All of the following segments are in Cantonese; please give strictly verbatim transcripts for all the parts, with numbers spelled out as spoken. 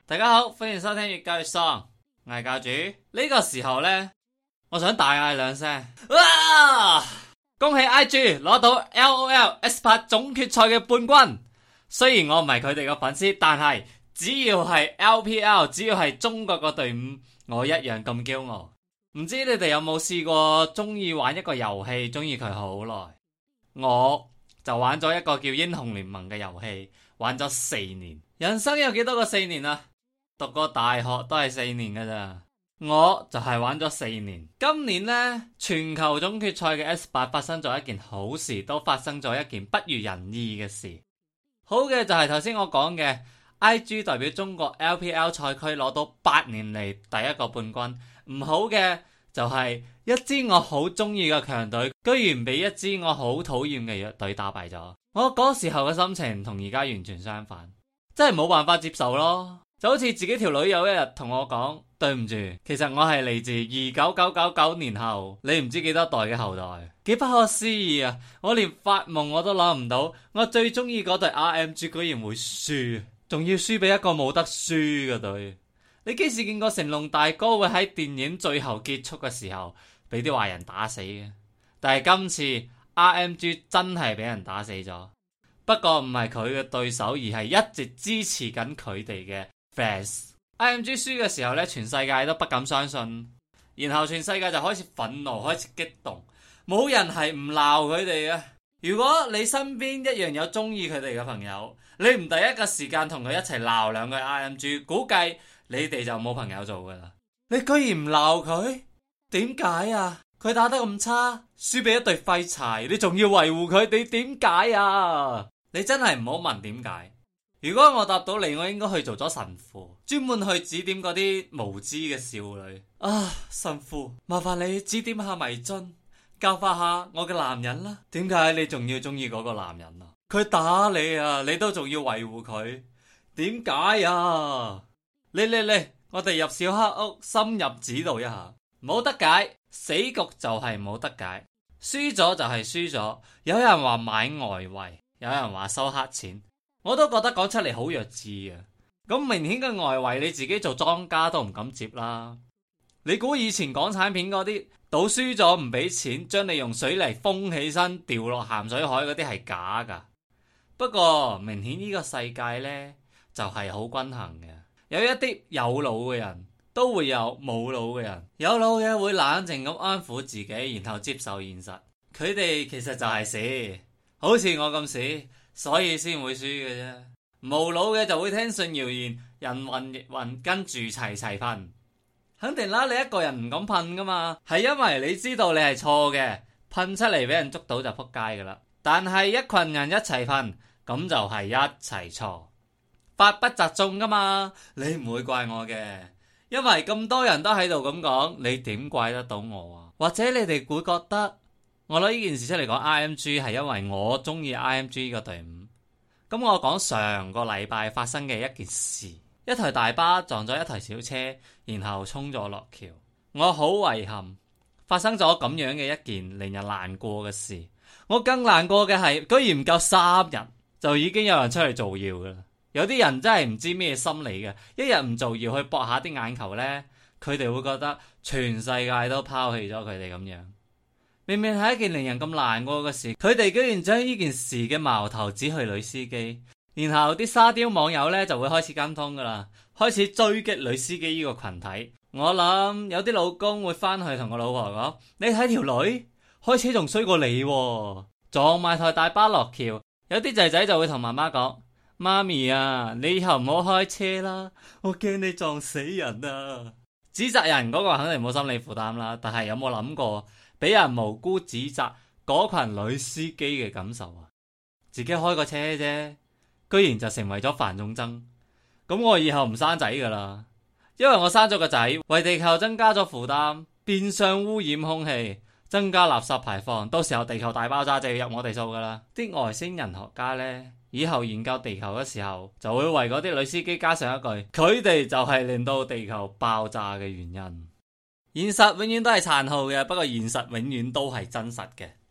大家好，歡迎收聽越教越喪，我係教主。呢個時候呢，我想大嗌兩聲，哇！恭喜 I G 攞到 L O L S 八總決賽嘅冠軍。雖然我唔係佢哋嘅粉絲，但係只要係 L P L， 只要係中國個隊伍，我一樣咁驕傲。唔知你哋有冇試過中意玩一個遊戲，中意佢好耐？我就玩咗一個叫英雄聯盟嘅遊戲，玩咗四年。人生有幾多個四年啊？讀過大學都係四年㗎咋，我就係玩咗四年。今年呢，全球總決賽嘅 S 八發生咗一件好事，都發生咗一件不如人意嘅事。好嘅就係頭先我講嘅 I G 代表中國 L P L 賽區攞到八年嚟第一個冠軍。唔好嘅就係一支我好中意嘅強隊，居然俾一支我好討厭嘅弱隊打敗咗。我嗰時候嘅心情同而家完全相反，真係冇辦法接受咯。就好似自己條女有一日同我講，對唔住，其實我係嚟自二九九九九年後你唔知幾多代嘅後代，幾不可思議啊！我連發夢我都諗唔到，我最中意嗰隊 R M G 居然會輸，仲要輸俾一個冇得輸嘅隊。你幾時見過成龍大哥會喺電影最後結束嘅時候俾啲壞人打死嘅？但係今次 R M G 真係俾人打死咗，不過唔係佢嘅對手，而係一直支持緊佢哋嘅fans。 R M G 輸嘅時候咧，全世界都不敢相信，然後全世界就開始憤怒，開始激動，冇人係唔鬧佢哋嘅。如果你身邊一樣有中意佢哋嘅朋友，你唔第一個時間同佢一齊鬧兩句 R M G， 估計你哋就冇朋友做噶啦。你居然唔鬧佢，點解啊？佢打得咁差，輸俾一隊廢柴，你仲要維護佢，你點解啊？你真係唔好問點解。如果我答到你，我應該去做咗神父，專門去指點嗰啲無知嘅少女啊！神父，麻煩你指點下迷津，教化下我嘅男人啦。點解你仲要中意嗰個男人啊？佢打你啊，你都仲要維護佢，點解啊？嚟嚟嚟，我哋入小黑屋，深入指導一下。冇得解，死局就係冇得解，輸咗就係輸咗。有人話買外圍，有人話收黑錢，我都覺得講出嚟好弱智啊！咁明顯嘅外圍，你自己做莊家都唔敢接啦。你估以前港產片嗰啲賭輸咗唔俾錢，將你用水泥封起身掉落鹹水海嗰啲係假噶？不過明顯呢個世界呢，就係好均衡嘅，有一啲有腦嘅人都會有冇腦嘅人，有腦嘅會冷靜咁安撫自己，然後接受現實。佢哋其實就係屎，好似我咁屎，所以先會輸嘅啫。無腦嘅就會聽信謠言，人云亦云，跟住齊齊噴。肯定啦，你一個人唔敢噴噶嘛，係因為你知道你係錯嘅，噴出嚟俾人捉到就撲街噶啦。但係一群人一齊噴，咁就係一齊錯，法不責眾噶嘛。你唔會怪我嘅，因為咁多人都喺度咁講，你點怪得到我啊？或者你哋會覺得我攞呢件事出嚟講 I M G 係因為我中意 I M G 呢個隊伍？咁我講上個禮拜發生嘅一件事，一台大巴撞咗一台小車，然後衝咗落橋。我好遺憾發生咗咁樣嘅一件令人難過嘅事。我更難過嘅係，居然唔夠三日就已經有人出嚟造謠噶啦。有啲人真係唔知咩心理嘅，一日唔造謠去博下啲眼球呢，佢哋會覺得全世界都拋棄咗佢哋咁樣。明明係一件令人咁難過嘅事，佢哋居然將呢件事嘅矛頭指去女司機，然後啲沙雕網友呢就會開始跟風噶啦，開始追擊女司機呢個群體。我諗有啲老公會翻去同個老婆講：你睇條女開車仲衰過你喎，撞埋台大巴落橋。有啲仔仔就會同媽媽講：媽咪啊，你以後唔好開車啦，我驚你撞死人啊！指責人嗰個肯定冇心理負擔啦，但係有冇諗過俾人無辜指責嗰群女司機嘅感受啊？自己開個車啫，居然就成為咗犯眾憎。咁我以後唔生仔噶啦，因為我生咗個仔，為地球增加咗負擔，變相污染空氣，增加垃圾排放，到時候地球大爆炸就要入我哋數噶啦。啲外星人學家呢，以後研究地球嘅時候，就會為嗰啲女司機加上一句：佢哋就係令到地球爆炸嘅原因。現實永遠都係殘酷嘅，不過現實永遠都係真實嘅。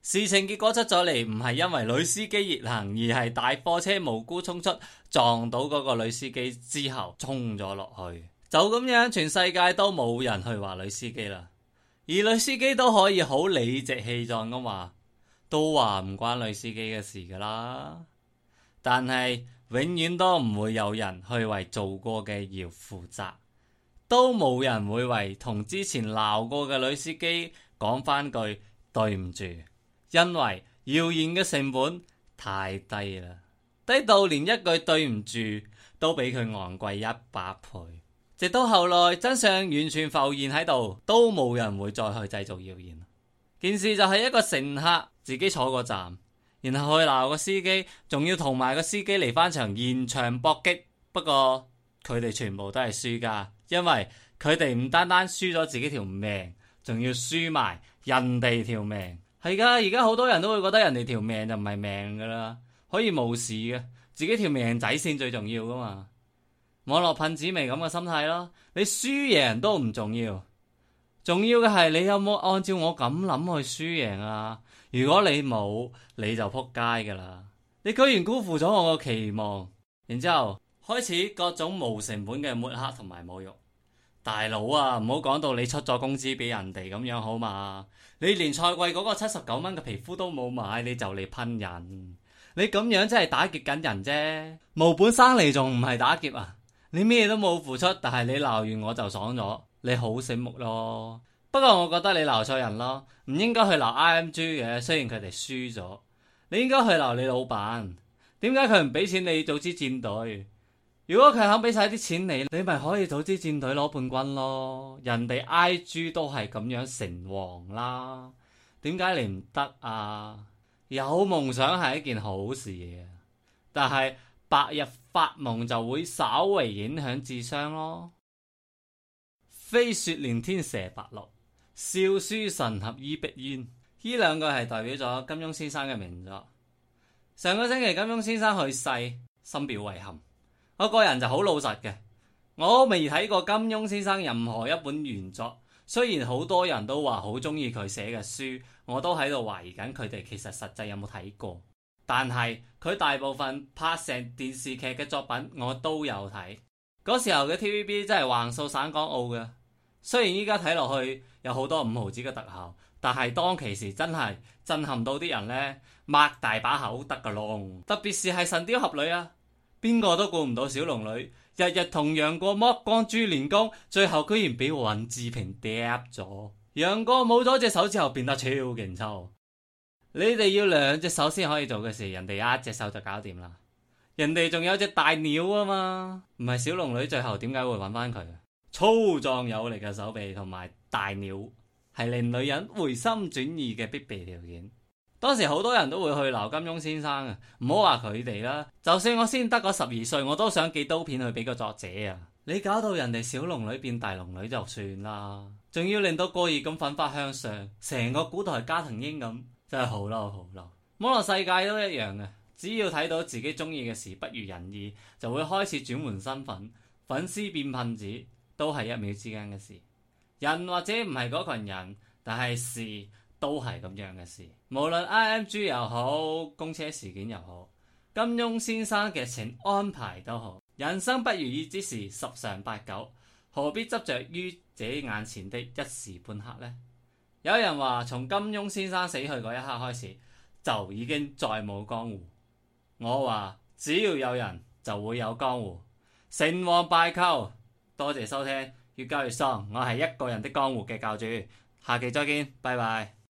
事情結果出咗嚟，唔係因為女司機逆行，而係大貨車無辜衝出，撞到嗰個女司機之後衝咗落去。就咁樣，全世界都冇人去話女司機啦。而女司機都可以好理直氣壯咁話，都話唔關女司機嘅事噶啦。但係永遠都唔會有人去為做過嘅謠負責，都冇人會為同之前鬧過嘅女司機講翻句對唔住。因為謠言嘅成本太低啦，低到連一句對唔住都比佢昂貴一百倍。直到後來真相完全浮現喺度，都冇人會再去製造謠言。件事就係一個乘客自己坐個站，然後去鬧個司機，仲要同埋個司機嚟翻場現場搏擊。不過佢哋全部都係輸家，因為佢哋唔單單輸咗自己條命，仲要輸埋人哋條命。係噶，而家好多人都會覺得人哋條命就唔係命噶啦，可以冇事嘅，自己條命仔先最重要噶嘛。網絡噴子咪咁嘅心態咯，你輸贏都唔重要，重要嘅係你有冇按照我咁諗去輸贏啊？如果你冇，你就撲街噶啦，你居然辜負咗我個期望，然之後開始各種無成本嘅抹黑同埋侮辱。大佬啊，唔好講到你出咗工資俾人哋咁樣好嘛？你連賽季嗰個七十九蚊嘅皮膚都冇買，你就嚟噴人，你咁樣真係打劫緊人啫！無本生利仲唔係打劫啊？你咩都冇付出，但係你鬧完我就爽咗，你好醒目咯。不過我覺得你鬧錯人咯，唔應該去鬧 I M G 嘅，雖然佢哋輸咗，你應該去鬧你老闆。點解佢唔俾錢你組織戰隊？如果佢肯俾晒啲錢你，你咪可以組織戰隊攞冠軍咯。人哋 I G 都係咁樣成王啦，點解你唔得啊？有夢想係一件好事嘅，但係白日發夢就會稍微影響智商咯。飛雪連天射白鹿，笑書神俠倚碧鴛，呢兩個係代表咗金庸先生嘅名作。上個星期金庸先生去世，深表遺憾。我個人就好老實嘅，我未睇過金庸先生任何一本原作，雖然好多人都話好中意佢寫嘅書，我都喺度懷疑緊佢哋其實實際有冇睇過。但係佢大部分拍成電視劇嘅作品我都有睇，嗰時候嘅 T V B 真係橫掃省港澳嘅。雖然依家睇落去有好多五毫子嘅特效，但係當其時真係震撼到啲人呢，擘大把口得個窿。特別是係神鵰俠侶啊！邊個都估唔到小龍女日日同楊過剝光豬練功，最後居然俾尹志平嗲咗。楊過冇咗隻手之後變得超勁抽。你哋要兩隻手先可以做嘅事，人哋一隻手就搞掂啦。人哋仲有隻大鳥啊嘛，唔係小龍女最後點解會揾翻佢？粗壯有力嘅手臂同埋大鳥係令女人回心轉意嘅必備條件。當時好多人都會去鬧金庸先生啊，唔好話佢哋啦，就算我先得嗰十二歲，我都想寄刀片去俾個作者啊！你搞到人哋小龍女變大龍女就算啦，仲要令到過熱咁奮發向上，成個古代加藤鷹咁，真係好嬲好嬲！網絡世界都一樣嘅，只要睇到自己中意嘅事不如人意，就會開始轉換身份，粉絲變噴子，都係一秒之間嘅事。人或者唔係嗰群人，但係事都係咁樣嘅事，無論 I M G 又好，公車事件又好，金庸先生嘅情安排都好，人生不如意之事十常八九，何必執着於這眼前的一時半刻呢？有人話從金庸先生死去嗰一刻開始，就已經再冇江湖。我話只要有人就會有江湖，成王敗寇。多謝收聽，越教越喪，我係一個人的江湖嘅教主，下期再見，拜拜。